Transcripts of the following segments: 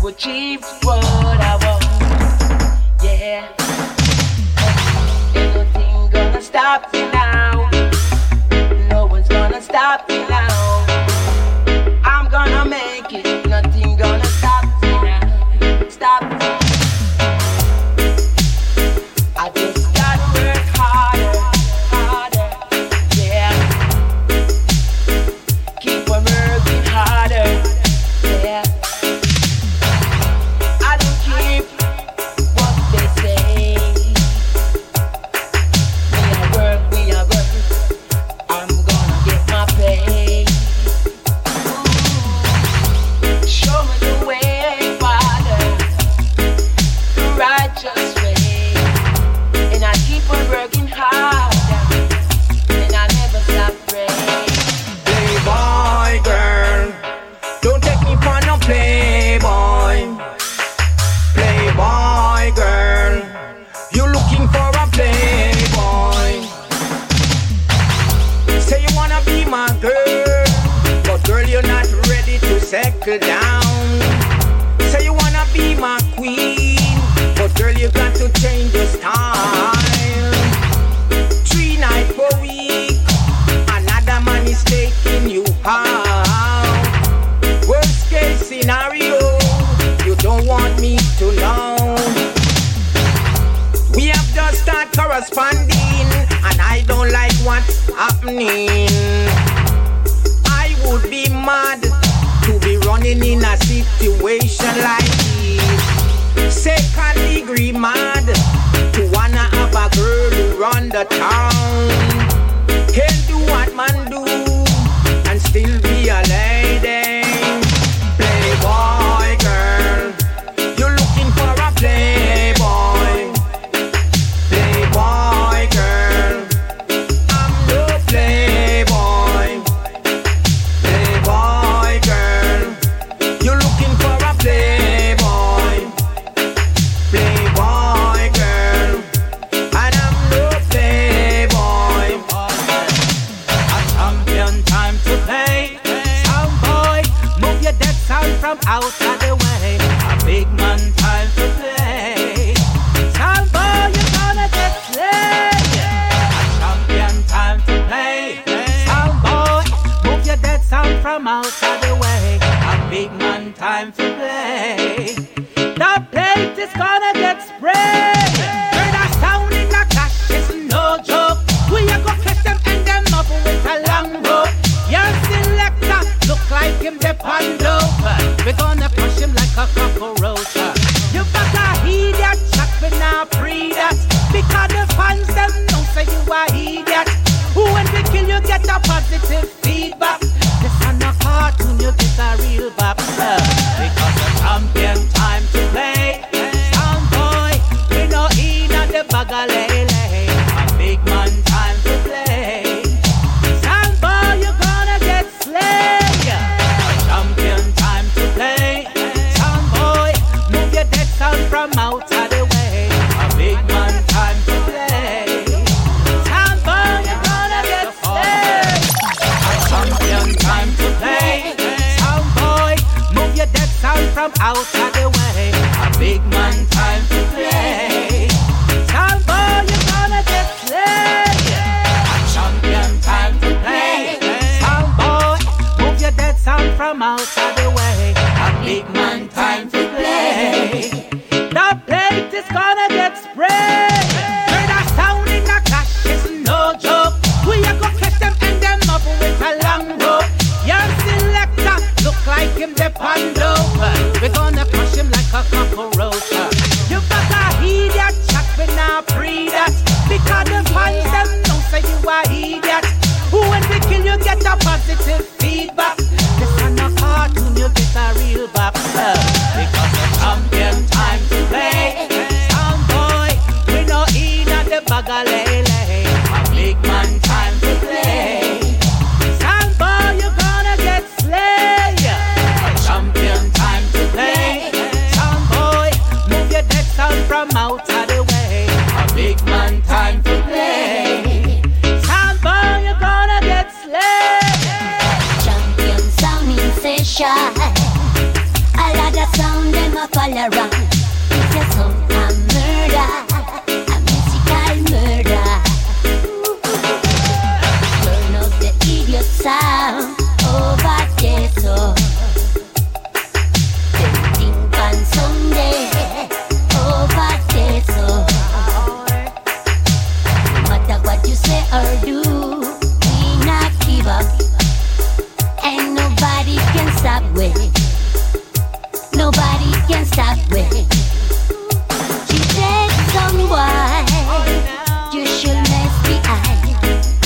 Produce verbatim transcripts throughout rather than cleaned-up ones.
to achieve what I want. Yeah, ain't nothing gonna stop me now. No one's gonna stop me now. I'm gonna make it. Nothing gonna stop me now. Stop me. I just gotta work harder, harder. Yeah, keep on working harder. Yeah, I don't keep what they say. We are work, we are work. I'm gonna get my pay. Ooh, show me the way, Father, the righteous way, and I keep on working harder, and I never stop praying. Playboy girl, don't take me for no playboy. Playboy girl, you looking for a playboy. Say you wanna be my girl, but girl you're not ready to settle down. Say you wanna be my queen, but girl you got to change your style. Three nights per week, another man is taking you out. Worst case scenario, you don't want me to know. We have just started corresponding, and I don't like what's happening. I would be mad to be running in a situation like this. Second degree mad to wanna have a girl who run the town. Can't do what man do and still be a lady. Playboy girl, you're looking for a playboy. Playboy girl, I'm no playboy. Playboy girl, you're looking for a playboy. Playboy girl, and I'm no playboy. A champion time to play. Sound boy, move your dead sound from out of the way. A big man time to play. Sound boy, you're gonna get slayed. A champion time to play. Sound boy, move your dead sound from out of the way. A big man time to play. The plate is gonna get sprayed. Heard a sound in the clash, it's no joke. We are gonna catch them and them up with a long rope. Your selector look like him the pando. We're gonna push him like a cockroach. You better heed that chat, but now free that. Because the fans them know say you are idiot. When we kill you get a positive feedback. This is not a cartoon, you get a real bop. Because the champion time to play. Sound boy, we no in at the bag of lele. A big man time to play. Sound boy, you're gonna get slayed. A champion time to play. Sound boy, move your dead sound from out of the way. A big man time to play. Sound boy, you're gonna get slayed. A champion time to play. Sound boy, move your dead sound from out of the way. A big man time to play. Sound boy, you're gonna get slayed. A champion time to play. Sound boy, move your dead sound from out of the way. A big man time to play. The plate is gonna get sprayed. Heard a sound in the clash, it's no joke. We are gonna catch them and them up with a long rope. Your selector look like him the pando. We're gonna crush him like a cockroach. You better heed that chat, but now free that. Because the fans them know say you are idiot. When we kill you get a positive feedback. This is not a cartoon, you get a real box. Because the champion time to play. Sound boy, we no in at the bag of lele. A big man time to play. Sound boy, you're gonna get slayed. A champion time to play. Sound boy, move your dead sound from out of the way. A big man time to play. Sound boy, you're gonna get slayed. Champion sound in session. All of the sound them a fall around. It's a sound of murder, a musical murder. Turn up the idiot sound over there, so them think on Sunday over there, so no matter what you say or do, we not give up. Ain't nobody can stop we. Nobody can stop we. She said, someone you should mess behind.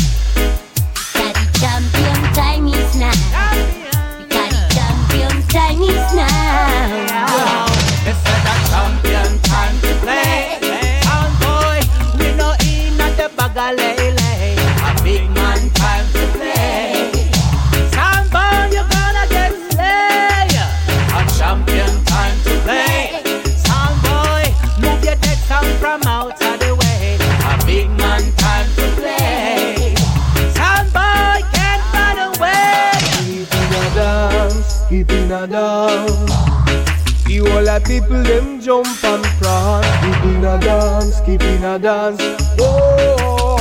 That the champion time is now. That the champion time is now. It's the champion time to play. Sound boy, we no in at the bagalele. A big man time to play. Sound boy, you gonna get slay. A champion time to play. Sound boy, move your dead sound from out of the way. A big man time to play. Sound boy can't run away. Keep in a dance, keep in a dance. The whole of people them jump and prance. Keep in a dance, keep in a dance. Oh,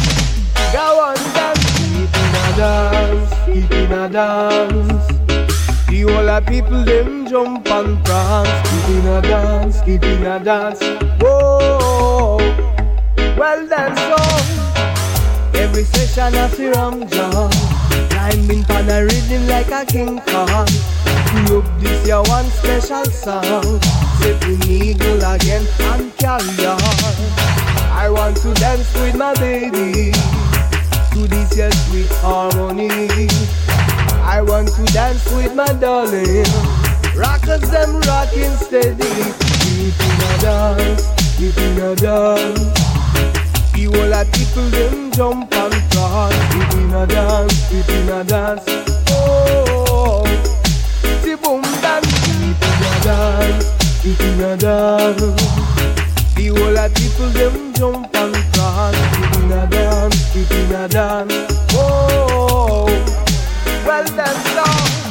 go on dance. Keep in a dance, keep in a dance. The whole of people them jump and prance. Keep in a dance, keep in a dance. Whoa, well then so every session I see Ram John climbing pan a rhythm like a King Kong. We up this year one special song, setting eagle again and carry on. I want to dance with my baby to this year sweet harmony. I want to dance with my darling, rockers them rocking steady. Keep in a dance, keep in a dance. The whole of people them jump and dance. Keep in a dance, keep in a dance. Oh, the boom dance. Keep in a dance, keep in a dance. The whole of people them jump and dance. Keep in a dance, keep in a dance. Oh, well then so.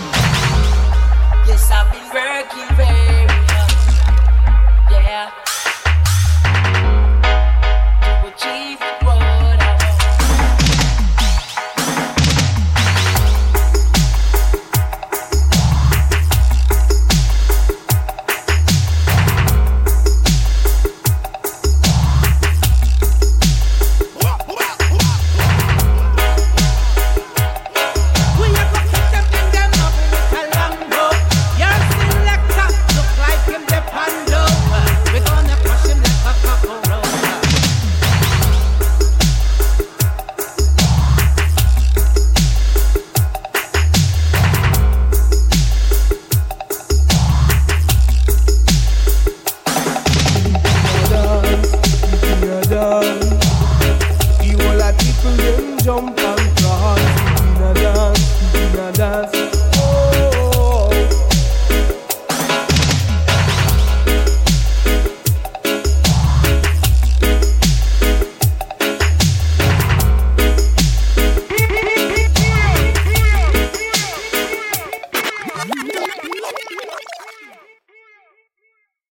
Yes, I've been working very hard. Yeah. To achieve what I want. The whole of people them jump